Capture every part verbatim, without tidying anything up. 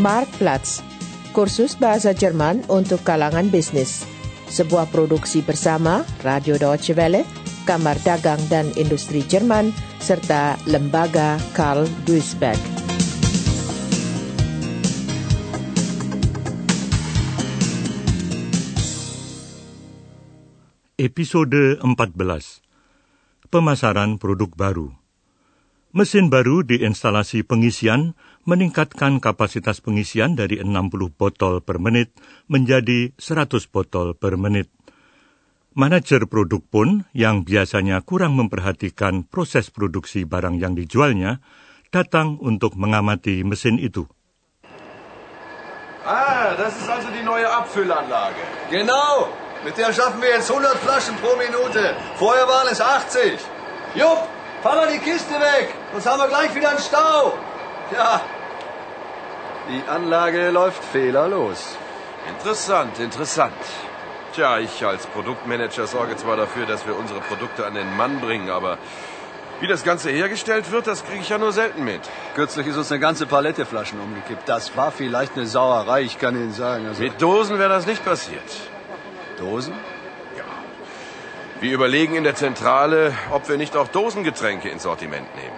Marktplatz, kursus bahasa Jerman untuk kalangan bisnis. Sebuah produksi bersama Radio Deutsche Welle, Kamar Dagang dan Industri Jerman, serta Lembaga Karl Duisberg. Episode empat belas. Pemasaran produk baru. Mesin baru di instalasi pengisian meningkatkan kapasitas pengisian dari enam puluh botol per menit menjadi seratus botol per menit. Manajer produk pun, yang biasanya kurang memperhatikan proses produksi barang yang dijualnya, datang untuk mengamati mesin itu. Ah, das ist also die neue Abfüllanlage. Genau, mit der schaffen wir jetzt hundert Flaschen pro Minute. Vorher waren es achtzig. Jupp, fahr mal die Kiste weg, sonst haben wir gleich wieder einen Stau. Ja, die Anlage läuft fehlerlos. Interessant, interessant. Tja, ich als Produktmanager sorge zwar dafür, dass wir unsere Produkte an den Mann bringen, aber wie das Ganze hergestellt wird, das kriege ich ja nur selten mit. Kürzlich ist uns eine ganze Palette Flaschen umgekippt. Das war vielleicht eine Sauerei, ich kann Ihnen sagen. Also Mit Dosen wäre das nicht passiert. Dosen? Ja. Wir überlegen in der Zentrale, ob wir nicht auch Dosengetränke ins Sortiment nehmen.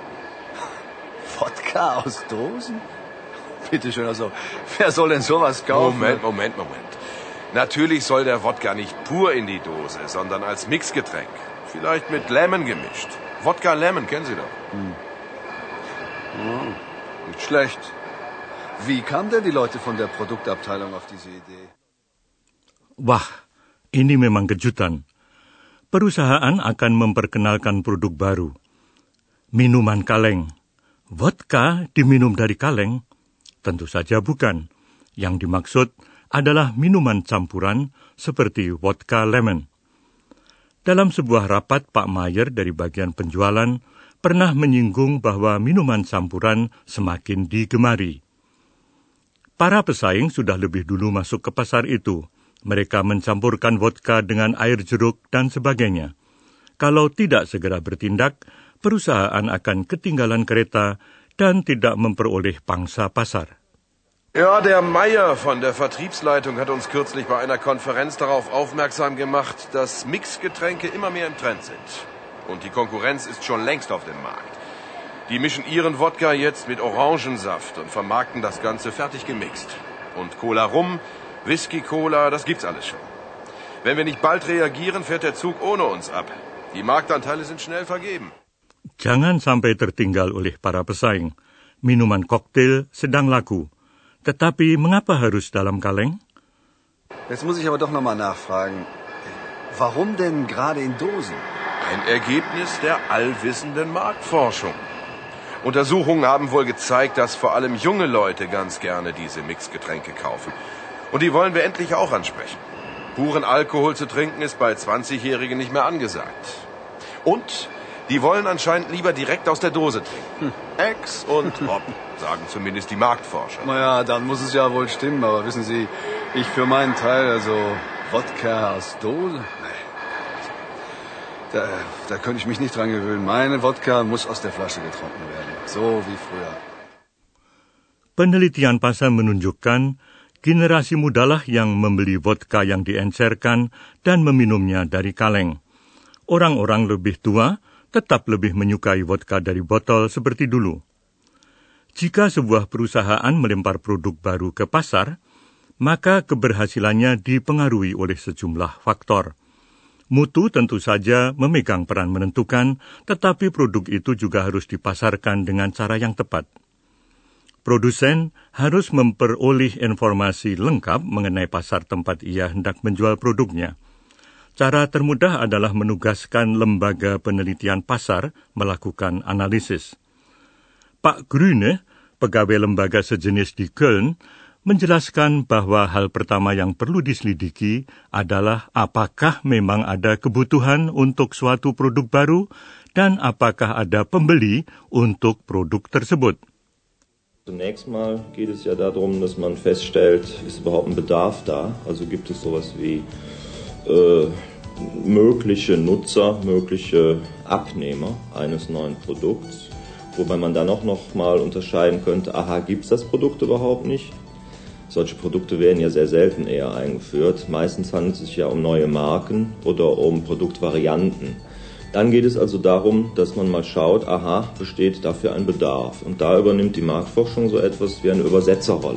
Wodka aus Dosen? Bitte schön, also, wer soll denn sowas kaufen? Moment, Moment, Moment. Natürlich soll der Wodka nicht pur in die Dose, sondern als Mixgetränk. Vielleicht mit Lemon gemischt. Wodka Lemon, kennen Sie doch. Hm. Oh, nicht schlecht. Wie kamen denn die Leute von der Produktabteilung auf diese Idee? Wah, ini memang kejutan. Perusahaan akan memperkenalkan produk baru. Minuman kaleng. Vodka diminum dari kaleng? Tentu saja bukan. Yang dimaksud adalah minuman campuran seperti vodka lemon. Dalam sebuah rapat, Pak Mayer dari bagian penjualan pernah menyinggung bahwa minuman campuran semakin digemari. Para pesaing sudah lebih dulu masuk ke pasar itu. Mereka mencampurkan vodka dengan air jeruk dan sebagainya. Kalau tidak segera bertindak, perusahaan akan ketinggalan kereta dan tidak memperoleh pangsa pasar. Ja, der Meier von der Vertriebsleitung hat uns kürzlich bei einer Konferenz darauf aufmerksam gemacht, dass Mixgetränke immer mehr im Trend sind. Und die Konkurrenz ist schon längst auf dem Markt. Die mischen ihren Wodka jetzt mit Orangensaft und vermarkten das Ganze fertig gemixt. Und Cola Rum, Whisky Cola, das gibt's alles schon. Wenn wir nicht bald reagieren, fährt der Zug ohne uns ab. Die Marktanteile sind schnell vergeben. Jangan sampai tertinggal oleh para pesaing. Minuman koktail sedang laku. Tetapi mengapa harus dalam kaleng? Jetzt muss ich aber doch nochmal nachfragen. Warum denn gerade in Dosen? Ein Ergebnis der allwissenden Marktforschung. Untersuchungen haben wohl gezeigt, dass vor allem junge Leute ganz gerne diese Mixgetränke kaufen. Und die wollen wir endlich auch ansprechen. Puren Alkohol zu trinken ist bei zwanzigjährigen nicht mehr angesagt. Und die wollen anscheinend lieber direkt aus der Dose trinken. Hm. Ex und Hop, sagen zumindest die Marktforscher. Naja, dann muss es ja wohl stimmen, aber wissen Sie, ich für meinen Teil, also Wodka aus Dose? Nee. Da, da könnte ich mich nicht dran gewöhnen. Meine Wodka muss aus der Flasche getrunken werden, so wie früher. Penelitian pasar menunjukkan generasi mudalah yang membeli vodka yang diencerkan dan meminumnya dari kaleng. Orang-orang lebih tua tetap lebih menyukai vodka dari botol seperti dulu. Jika sebuah perusahaan melempar produk baru ke pasar, maka keberhasilannya dipengaruhi oleh sejumlah faktor. Mutu tentu saja memegang peran menentukan, tetapi produk itu juga harus dipasarkan dengan cara yang tepat. Produsen harus memperoleh informasi lengkap mengenai pasar tempat ia hendak menjual produknya. Cara termudah adalah menugaskan lembaga penelitian pasar melakukan analisis. Pak Grüne, pegawai lembaga sejenis di Köln, menjelaskan bahwa hal pertama yang perlu diselidiki adalah apakah memang ada kebutuhan untuk suatu produk baru dan apakah ada pembeli untuk produk tersebut. Zunächst mal geht es ja darum, dass man feststellt, ist überhaupt ein Bedarf da? Also gibt es sowas wie äh, mögliche Nutzer, mögliche Abnehmer eines neuen Produkts, wobei man dann auch noch mal unterscheiden könnte, aha, gibt es das Produkt überhaupt nicht? Solche Produkte werden ja sehr selten eher eingeführt. Meistens handelt es sich ja um neue Marken oder um Produktvarianten. Dann geht es also darum, dass man mal schaut, aha, besteht dafür ein Bedarf. Und da übernimmt die Marktforschung so etwas wie eine Übersetzerrolle.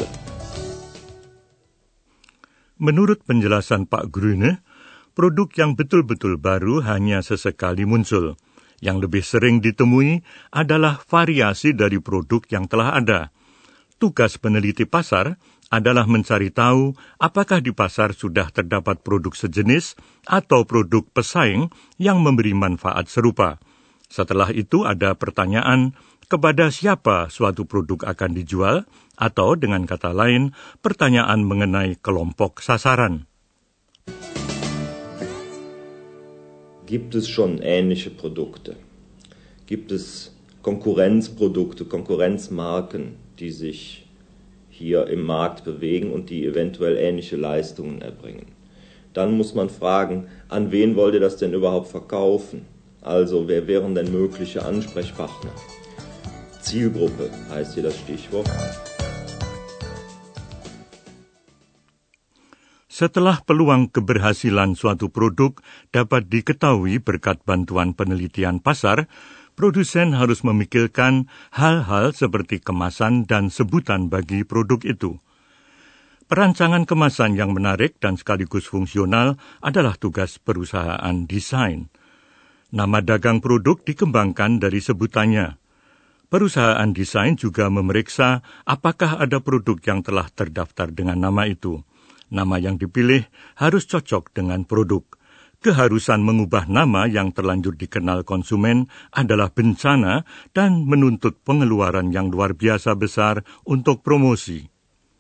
Menurut penjelasan Pak Grüne, produk yang betul-betul baru hanya sesekali muncul. Yang lebih sering ditemui adalah variasi dari produk yang telah ada. Tugas peneliti pasar adalah mencari tahu apakah di pasar sudah terdapat produk sejenis atau produk pesaing yang memberi manfaat serupa. Setelah itu ada pertanyaan kepada siapa suatu produk akan dijual, atau dengan kata lain, pertanyaan mengenai kelompok sasaran. Gibt es schon ähnliche Produkte? Gibt es Konkurrenzprodukte, Konkurrenzmarken, die sich hier im Markt bewegen und die eventuell ähnliche Leistungen erbringen? Dann muss man fragen, an wen wollt ihr das denn überhaupt verkaufen? Also, wer wären denn mögliche Ansprechpartner? Zielgruppe heißt hier das Stichwort. Setelah peluang keberhasilan suatu produk dapat diketahui berkat bantuan penelitian pasar, produsen harus memikirkan hal-hal seperti kemasan dan sebutan bagi produk itu. Perancangan kemasan yang menarik dan sekaligus fungsional adalah tugas perusahaan desain. Nama dagang produk dikembangkan dari sebutannya. Perusahaan desain juga memeriksa apakah ada produk yang telah terdaftar dengan nama itu. Nama yang dipilih harus cocok dengan produk. Keharusan mengubah nama yang terlanjur dikenal konsumen adalah bencana dan menuntut pengeluaran yang luar biasa besar untuk promosi.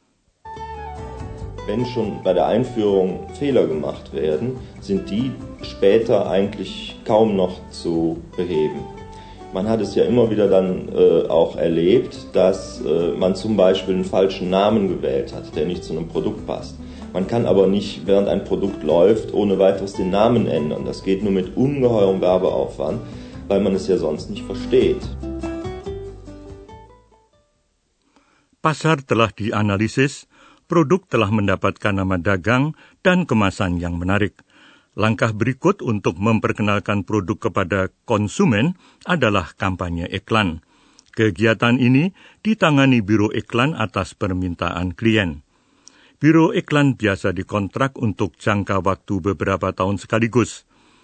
Wenn schon bei der Einführung Fehler gemacht werden, sind die später eigentlich kaum noch zu beheben. Man hat es ja immer wieder dann äh, auch erlebt, dass äh, man zum Beispiel einen falschen Namen gewählt hat, der nicht zu einem Produkt passt. Man kann aber nicht, während ein Produkt läuft, ohne weiteres den Namen ändern. Das geht nur mit ungeheurem Werbeaufwand, weil man es ja sonst nicht versteht. Pasar telah dianalisis, produk telah mendapatkan nama dagang dan kemasan yang menarik. Langkah berikut untuk memperkenalkan produk kepada konsumen adalah kampanye iklan. Kegiatan ini ditangani Biro Iklan atas permintaan klien. Biro iklan biasa dikontrak untuk jangka waktu beberapa tahun sekaligus.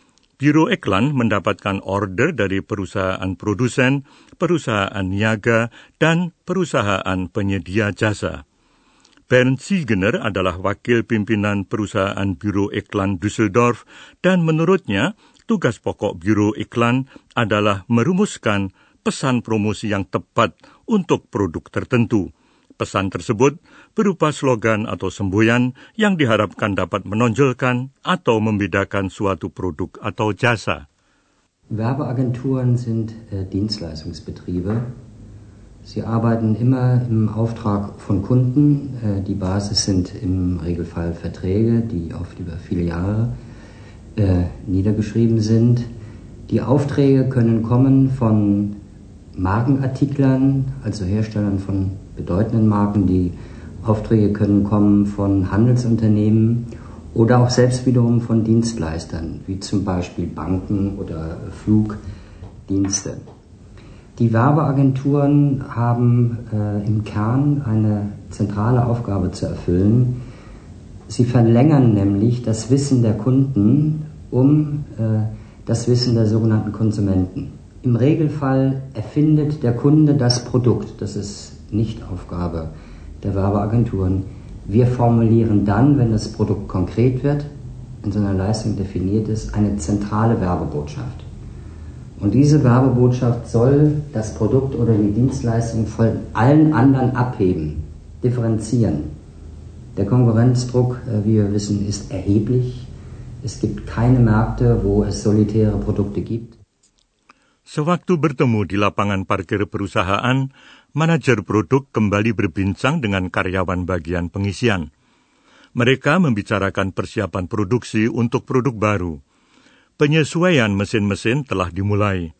Biro iklan mendapatkan order dari perusahaan produsen, perusahaan niaga, dan perusahaan penyedia jasa. Bernd Siegener adalah wakil pimpinan perusahaan Biro Iklan Düsseldorf, dan menurutnya tugas pokok Biro Iklan adalah merumuskan pesan promosi yang tepat untuk produk tertentu. Pesan tersebut berupa slogan atau semboyan yang diharapkan dapat menonjolkan atau membedakan suatu produk atau jasa. Werbeagenturen sind äh, Dienstleistungsbetriebe. Sie arbeiten immer im Auftrag von Kunden. Äh, die Basis sind im Regelfall Verträge, die oft über viele Jahre äh, niedergeschrieben sind. Die Aufträge können kommen von Markenartiklern, also Herstellern von bedeutenden Marken. Die Aufträge können kommen von Handelsunternehmen oder auch selbst wiederum von Dienstleistern, wie zum Beispiel Banken oder Flugdienste. Die Werbeagenturen haben äh, im Kern eine zentrale Aufgabe zu erfüllen. Sie verlängern nämlich das Wissen der Kunden um äh, das Wissen der sogenannten Konsumenten. Im Regelfall erfindet der Kunde das Produkt. Das ist nicht Aufgabe der Werbeagenturen. Wir formulieren dann, wenn das Produkt konkret wird, in so einer Leistung definiert ist, eine zentrale Werbebotschaft. Und diese Werbebotschaft soll das Produkt oder die Dienstleistung von allen anderen abheben, differenzieren. Der Konkurrenzdruck, wie wir wissen, ist erheblich. Es gibt keine Märkte, wo es solitäre Produkte gibt. Sewaktu bertemu di lapangan parkir perusahaan, manajer produk kembali berbincang dengan karyawan bagian pengisian. Mereka membicarakan persiapan produksi untuk produk baru. Penyesuaian mesin-mesin telah dimulai.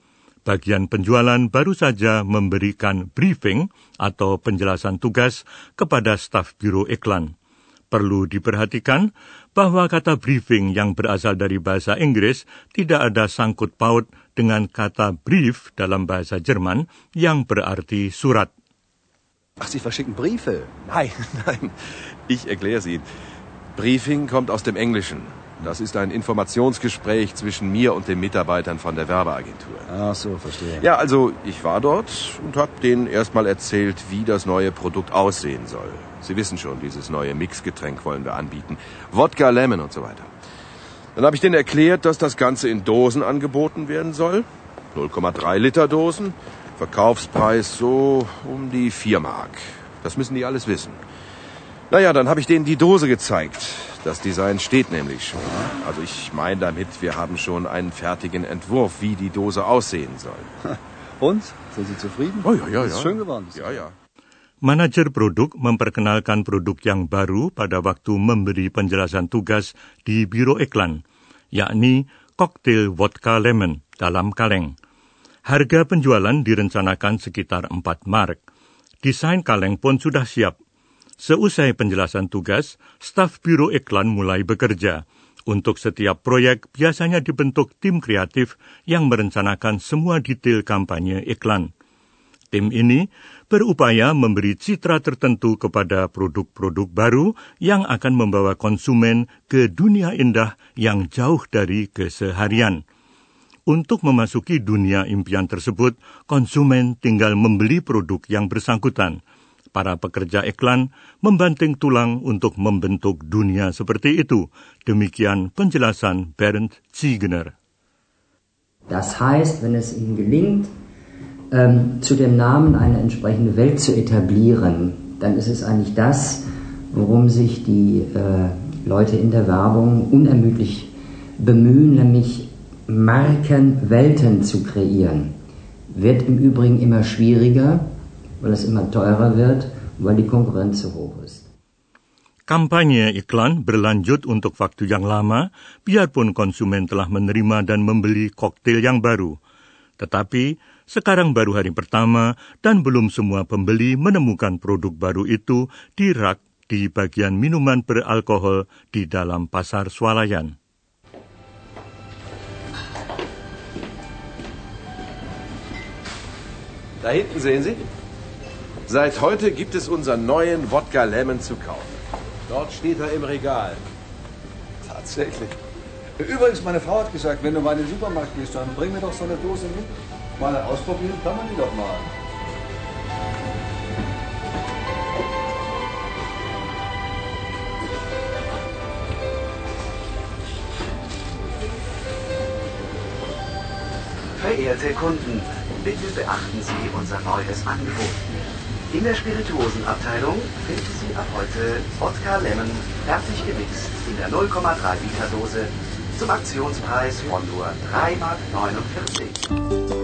Bagian penjualan baru saja memberikan briefing atau penjelasan tugas kepada staf Biro Iklan. Perlu diperhatikan bahwa kata briefing yang berasal dari bahasa Inggris tidak ada sangkut paut dengan kata brief dalam bahasa Jerman yang berarti surat. Ach, Sie verschicken Briefe? Nein, nein, ich erkläre es Ihnen. Briefing kommt aus dem Englischen. Das ist ein Informationsgespräch zwischen mir und den Mitarbeitern von der Werbeagentur. Ach so, verstehe. Ja, also ich war dort und habe denen erstmal erzählt, wie das neue Produkt aussehen soll. Sie wissen schon, dieses neue Mixgetränk wollen wir anbieten. Wodka, Lemon und so weiter. Dann habe ich denen erklärt, dass das Ganze in Dosen angeboten werden soll. null Komma drei Liter Dosen. Verkaufspreis so um die vier Mark. Das müssen die alles wissen. Naja, dann habe ich denen die Dose gezeigt. Das Design steht nämlich schon. Also ich meine damit, wir haben schon einen fertigen Entwurf, wie die Dose aussehen soll. Und? Sind Sie zufrieden? Oh ja, ja, ja. Ist schön geworden. Ja, ja. Manajer produk memperkenalkan produk yang baru pada waktu memberi penjelasan tugas di Biro Iklan, yakni koktail vodka lemon dalam kaleng. Harga penjualan direncanakan sekitar empat mark. Desain kaleng pun sudah siap. Seusai penjelasan tugas, staf Biro Iklan mulai bekerja. Untuk setiap proyek biasanya dibentuk tim kreatif yang merencanakan semua detail kampanye iklan. Tim ini berupaya memberi citra tertentu kepada produk-produk baru yang akan membawa konsumen ke dunia indah yang jauh dari keseharian. Untuk memasuki dunia impian tersebut, konsumen tinggal membeli produk yang bersangkutan. Para pekerja iklan membanting tulang untuk membentuk dunia seperti itu. Demikian penjelasan Bernd Ziegner. Das heißt, wenn es Ihnen gelingt, ähm, zu dem Namen eine entsprechende Welt zu etablieren, dann ist es eigentlich das, worum sich die äh, Leute in der Werbung unermüdlich bemühen, nämlich Markenwelten zu kreieren. Wird im Übrigen immer schwieriger, weil es immer teurer wird, weil die Konkurrenz so hoch ist. Kampanye iklan berlanjut untuk waktu yang lama, biarpun konsumen telah menerima dan membeli koktail yang baru. Tetapi, sekarang baru hari pertama dan belum semua pembeli menemukan produk baru itu di rak di bagian minuman beralkohol di dalam pasar swalayan. Da hinten sehen Sie? Seit heute gibt es unseren neuen Wodka Lemon zu kaufen. Dort steht er im Regal. Tatsächlich. Übrigens, meine Frau hat gesagt, wenn du mal in den Supermarkt gehst, dann bring mir doch so eine Dose mit. Mal ausprobieren kann man die doch mal. Verehrte Kunden, bitte beachten Sie unser neues Angebot. In der Spirituosenabteilung finden Sie ab heute Wodka Lemon fertig gemixt in der null Komma drei Liter Dose zum Aktionspreis von nur drei Mark neunundvierzig.